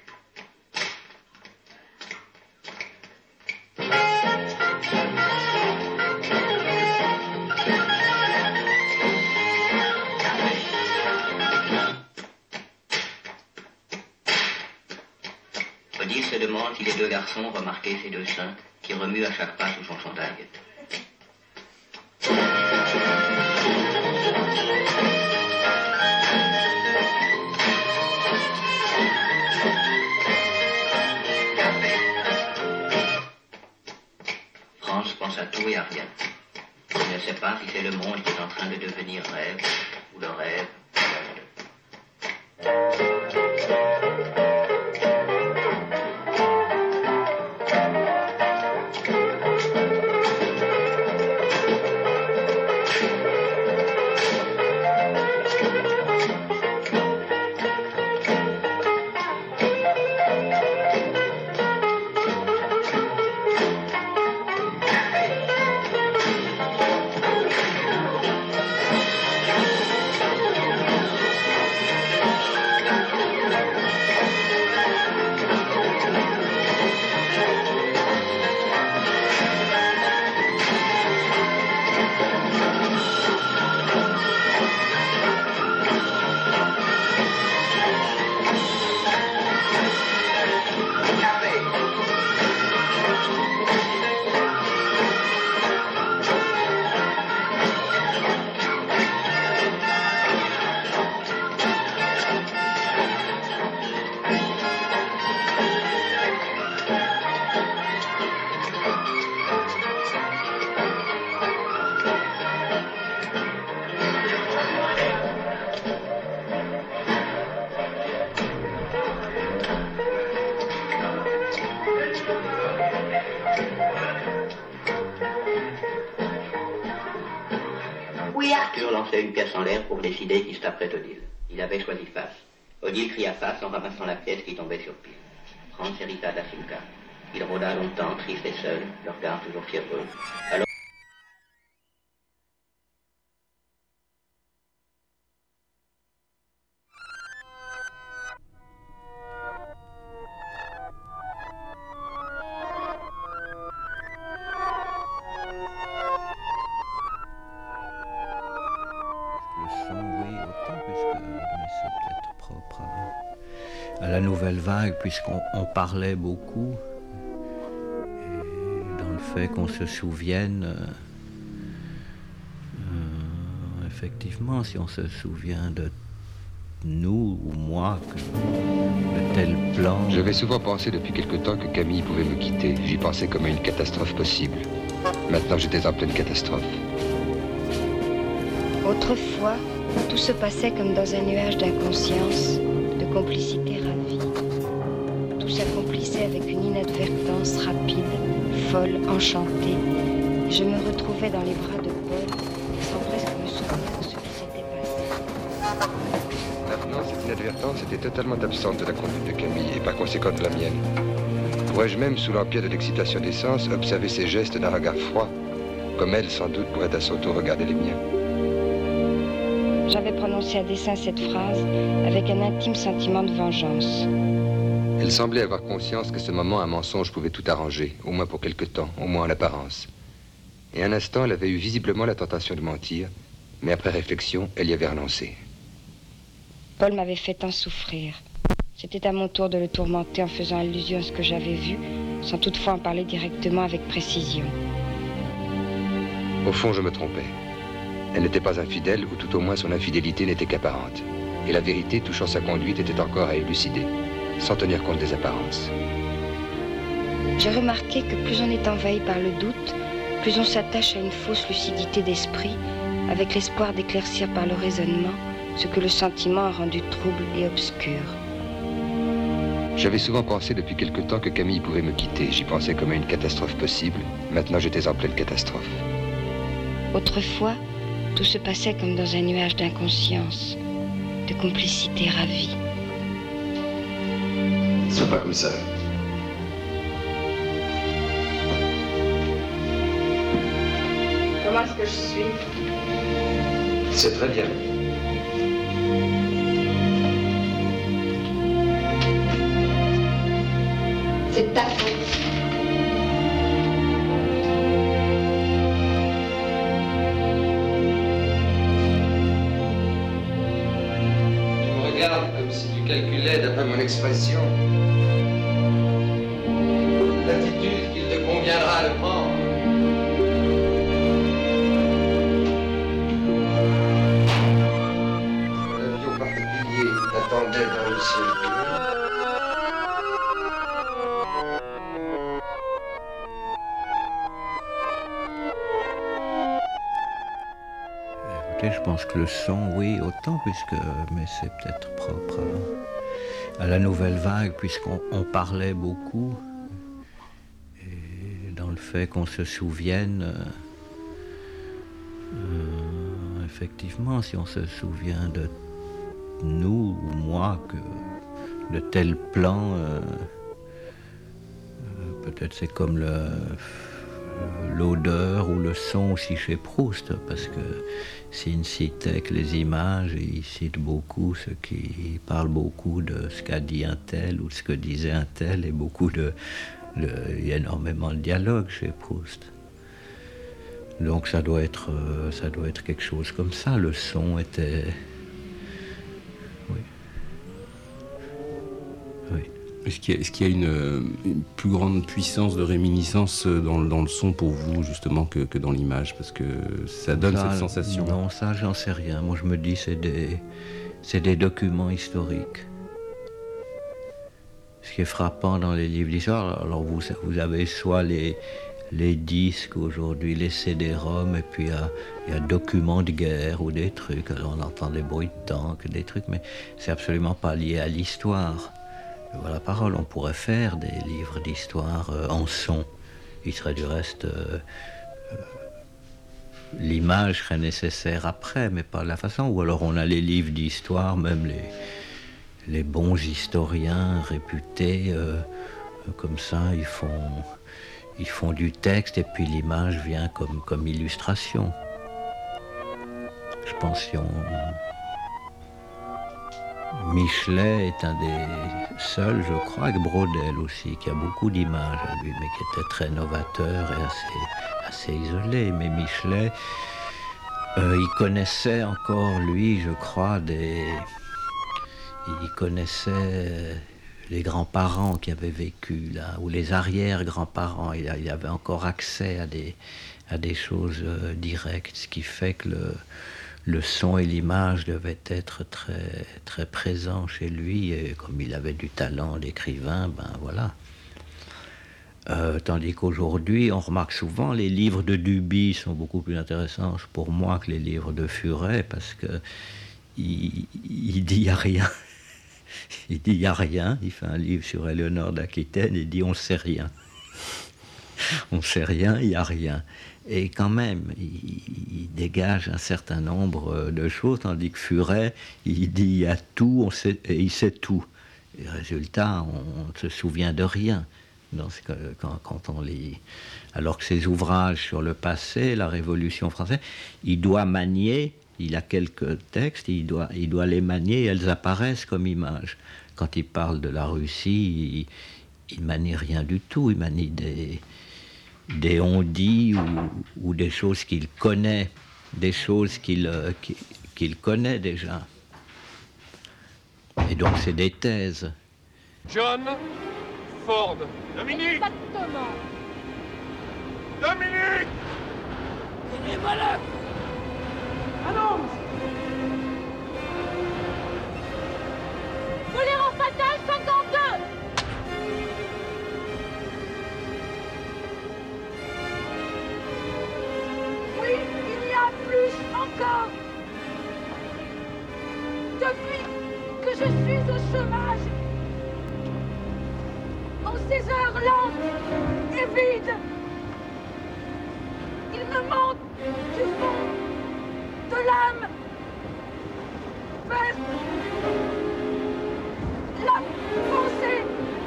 Speaker 10: Odile se demande si les deux garçons ont remarqué ces deux seins qui remuent à chaque pas sous son chandail. France pense à tout et à rien. Il ne sait pas si c'est le monde qui est en train de devenir rêve ou le rêve. Arthur lançait une pièce en l'air pour décider qui se taperait Odile. Il avait choisi face. Odile cria face en ramassant la pièce qui tombait sur pied. Franz hérita d'Asimka. Il rôda longtemps, triste et seul, le regard toujours fiévreux. Alors... La nouvelle vague, puisqu'on parlait beaucoup, et dans le fait qu'on se souvienne, effectivement, si on se souvient de nous ou moi, de tel plan...
Speaker 5: J'avais souvent pensé depuis quelque temps que Camille pouvait me quitter. J'y pensais comme à une catastrophe possible. Maintenant, j'étais en pleine catastrophe.
Speaker 6: Autrefois, tout se passait comme dans un nuage d'inconscience, de complicité ravie. Tout s'accomplissait avec une inadvertance rapide, folle, enchantée. Je me retrouvais dans les bras de Paul, sans presque me souvenir de ce qui s'était passé.
Speaker 5: Maintenant, cette inadvertance était totalement absente de la conduite de Camille et par conséquent de la mienne. Pourrais-je même, sous l'empire de l'excitation des sens, observer ses gestes d'un regard froid, comme elle, sans doute, pourrait à son tour regarder les miens.
Speaker 6: J'avais prononcé à dessein cette phrase avec un intime sentiment de vengeance.
Speaker 5: Elle semblait avoir conscience que ce moment, un mensonge pouvait tout arranger, au moins pour quelque temps, au moins en apparence. Et un instant, elle avait eu visiblement la tentation de mentir, mais après réflexion, elle y avait renoncé.
Speaker 6: Paul m'avait fait tant souffrir. C'était à mon tour de le tourmenter en faisant allusion à ce que j'avais vu, sans toutefois en parler directement avec précision.
Speaker 5: Au fond, je me trompais. Elle n'était pas infidèle, ou tout au moins son infidélité n'était qu'apparente. Et la vérité touchant sa conduite était encore à élucider, sans tenir compte des apparences.
Speaker 6: J'ai remarqué que plus on est envahi par le doute, plus on s'attache à une fausse lucidité d'esprit, avec l'espoir d'éclaircir par le raisonnement ce que le sentiment a rendu trouble et obscur.
Speaker 5: J'avais souvent pensé depuis quelque temps que Camille pouvait me quitter. J'y pensais comme à une catastrophe possible. Maintenant, j'étais en pleine catastrophe.
Speaker 6: Autrefois, tout se passait comme dans un nuage d'inconscience, de complicité ravie.
Speaker 4: Sois pas comme ça.
Speaker 12: Comment est-ce que je suis?
Speaker 4: C'est très bien.
Speaker 7: C'est ta faute.
Speaker 5: Tu me regardes comme si tu calculais, d'après mon expression, l'attitude qu'il te conviendra de prendre. L'avion particulier t'attendait dans le ciel bleu.
Speaker 10: Je pense que le son, oui, autant, mais c'est peut-être propre à la nouvelle vague, puisqu'on parlait beaucoup, et dans le fait qu'on se souvienne, effectivement, si on se souvient de nous ou moi, que de tel plan, peut-être c'est comme l'odeur ou le son aussi chez Proust, parce que s'il ne citait que les images, il cite beaucoup il parle beaucoup de ce qu'a dit un tel ou ce que disait un tel, et il y a énormément de dialogue chez Proust. Donc ça doit être quelque chose comme ça. Le son était... Oui. Oui.
Speaker 11: Est-ce qu'il y a une plus grande puissance de réminiscence dans le son pour vous, justement, que dans l'image? Parce que ça donne cette sensation.
Speaker 10: Non, ça, j'en sais rien. Moi, je me dis c'est des documents historiques. Ce qui est frappant dans les livres d'histoire, alors vous avez soit les disques aujourd'hui, les CD-ROM, et puis il y a documents de guerre ou des trucs. Alors on entend des bruits de tanks, des trucs, mais c'est absolument pas lié à l'histoire. Voilà la parole, on pourrait faire des livres d'histoire en son. Il serait du reste... l'image serait nécessaire après, mais pas de la façon. Ou alors on a les livres d'histoire, même les bons historiens réputés, comme ça, ils font du texte et puis l'image vient comme illustration. Je pense que Michelet est un des seuls, je crois, avec Braudel aussi, qui a beaucoup d'images à lui, mais qui était très novateur et assez isolé. Mais Michelet, il connaissait encore, lui, je crois, il connaissait les grands-parents qui avaient vécu là, ou les arrière-grands-parents. Il avait encore accès à des choses directes, ce qui fait que le son et l'image devaient être très, très présents chez lui, et comme il avait du talent d'écrivain, ben voilà. Tandis qu'aujourd'hui, on remarque souvent, les livres de Duby sont beaucoup plus intéressants pour moi que les livres de Furet, parce que il dit rien. Il dit il n'y a rien, il fait un livre sur Éléonore d'Aquitaine, il dit on ne sait rien. On ne sait rien, il n'y a rien. Et quand même, il dégage un certain nombre de choses, tandis que Furet, il dit il y a tout, et il sait tout. Et résultat, on ne se souvient de rien quand on lit. Alors que ses ouvrages sur le passé, la Révolution française, il doit manier, il a quelques textes, il doit les manier, et elles apparaissent comme images. Quand il parle de la Russie, il manie rien du tout, il manie des on-dit ou des choses qu'il connaît, des choses qu'il connaît déjà. Et donc c'est des thèses.
Speaker 19: John Ford. Dominique.
Speaker 8: Exactement.
Speaker 19: Dominique.
Speaker 8: Il est malade. Annonce. Tolérance fatale 52.
Speaker 12: depuis que je suis au chômage. En ces heures lentes et vides, il me manque du fond de l'âme vers la pensée.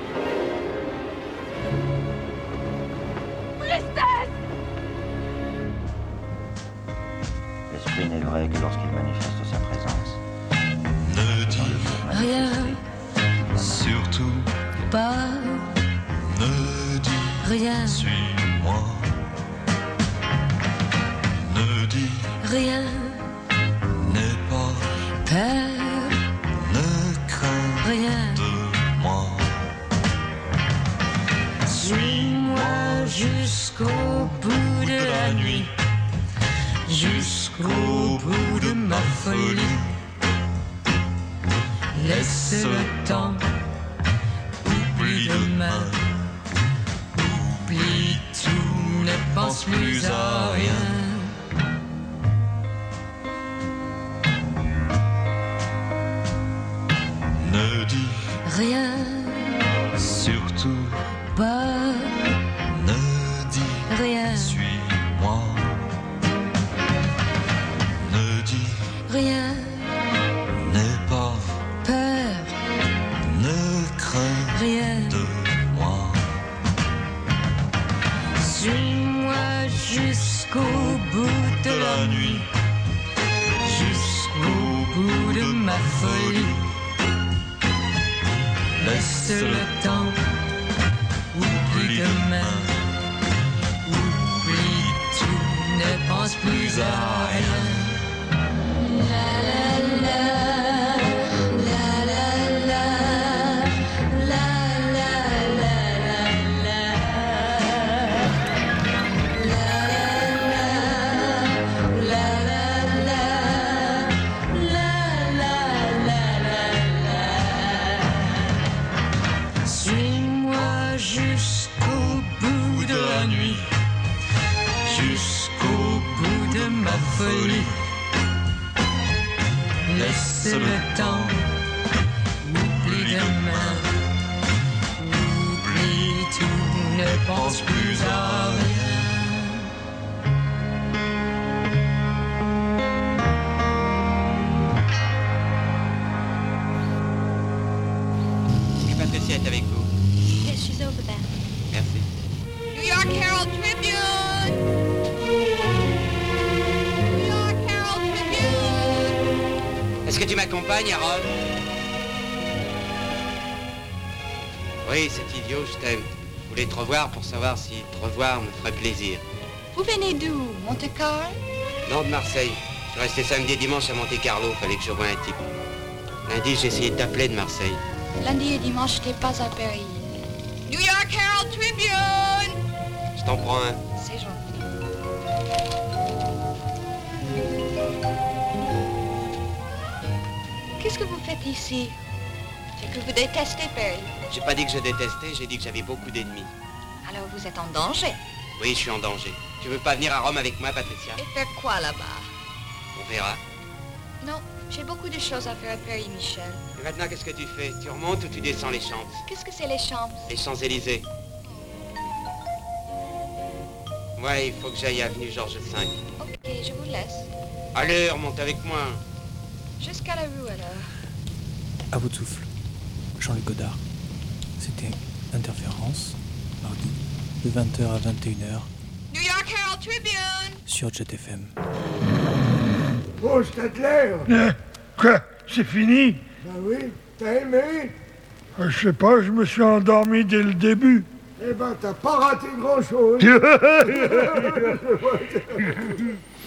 Speaker 12: Tristesse.
Speaker 20: L'esprit n'est vrai que lorsqu'il manifeste sa présence.
Speaker 21: Ne dis
Speaker 22: rien,
Speaker 21: surtout
Speaker 22: pas,
Speaker 21: ne dis
Speaker 22: rien,
Speaker 21: suis-moi. Ne dis
Speaker 22: rien,
Speaker 21: n'aie pas
Speaker 22: peur,
Speaker 21: ne crains
Speaker 22: rien
Speaker 21: de moi.
Speaker 22: Suis-moi jusqu'au bout de la nuit, jusqu'au bout de ma folie. Laisse le temps, oublie demain, oublie tout, ne pense plus à rien.
Speaker 21: Ne dis
Speaker 22: Rien,
Speaker 21: surtout
Speaker 22: pas,
Speaker 21: ne dis
Speaker 22: rien,
Speaker 21: suis-moi. Ne dis
Speaker 22: rien,
Speaker 21: n'aie pas
Speaker 22: peur,
Speaker 21: ne crains
Speaker 22: rien.
Speaker 21: de moi.
Speaker 22: Suis-moi jusqu'au bout de la nuit, jusqu'au bout de ma folie. Laisse le temps, oublie demain, oublie tout, ne pense plus à rien. La la la, la la la, la la la la la, la la la, la la la la. Suis-moi jusqu'au bout de la nuit, jusqu'au bout de ma folie. Laisse le temps, oublie demain, oublie tout, ne pense plus à rien.
Speaker 9: Et Patricia est avec vous.
Speaker 8: Yes, she's over there.
Speaker 9: Merci.
Speaker 8: New York Herald Tribune! New York Herald Tribune!
Speaker 9: Est-ce que tu m'accompagnes, Harold? Oui, c'est idiot, je t'aime. Je voulais te revoir pour savoir si te revoir me ferait plaisir.
Speaker 8: Vous venez d'où? Monte-Carlo?
Speaker 9: Non, de Marseille. Je suis resté samedi et dimanche à Monte-Carlo, fallait que je voie un type. Lundi, j'ai essayé de t'appeler de Marseille.
Speaker 8: Lundi et dimanche, j'étais pas à Paris. New York Herald Tribune!
Speaker 9: Je t'en prends un.
Speaker 8: C'est gentil. Qu'est-ce que vous faites ici? C'est que vous détestez Paris.
Speaker 9: J'ai pas dit que je détestais, j'ai dit que j'avais beaucoup d'ennemis.
Speaker 8: Alors vous êtes en danger.
Speaker 9: Oui, je suis en danger. Tu veux pas venir à Rome avec moi, Patricia?
Speaker 8: Et faire quoi là-bas?
Speaker 9: On verra.
Speaker 8: Non, j'ai beaucoup de choses à faire à Paris, Michel.
Speaker 9: Et maintenant, qu'est-ce que tu fais? Tu remontes ou tu descends les Champs?
Speaker 8: Qu'est-ce que c'est les Champs?
Speaker 9: Les Champs-Élysées. Ouais, il faut que j'aille avenue Georges V.
Speaker 8: Ok, je vous laisse.
Speaker 9: Allez, remonte avec moi.
Speaker 8: Jusqu'à la rue alors.
Speaker 2: À bout de souffle, Jean-Luc Godard. C'était Interférence, mardi, de 20h à 21h.
Speaker 8: New York Herald Tribune!
Speaker 2: Sur Jet FM.
Speaker 23: Oh, Stadler!
Speaker 17: Quoi? C'est fini?
Speaker 23: Ben oui, t'as aimé?
Speaker 17: Je sais pas, je me suis endormi dès le début.
Speaker 23: Eh ben, t'as pas raté grand-chose.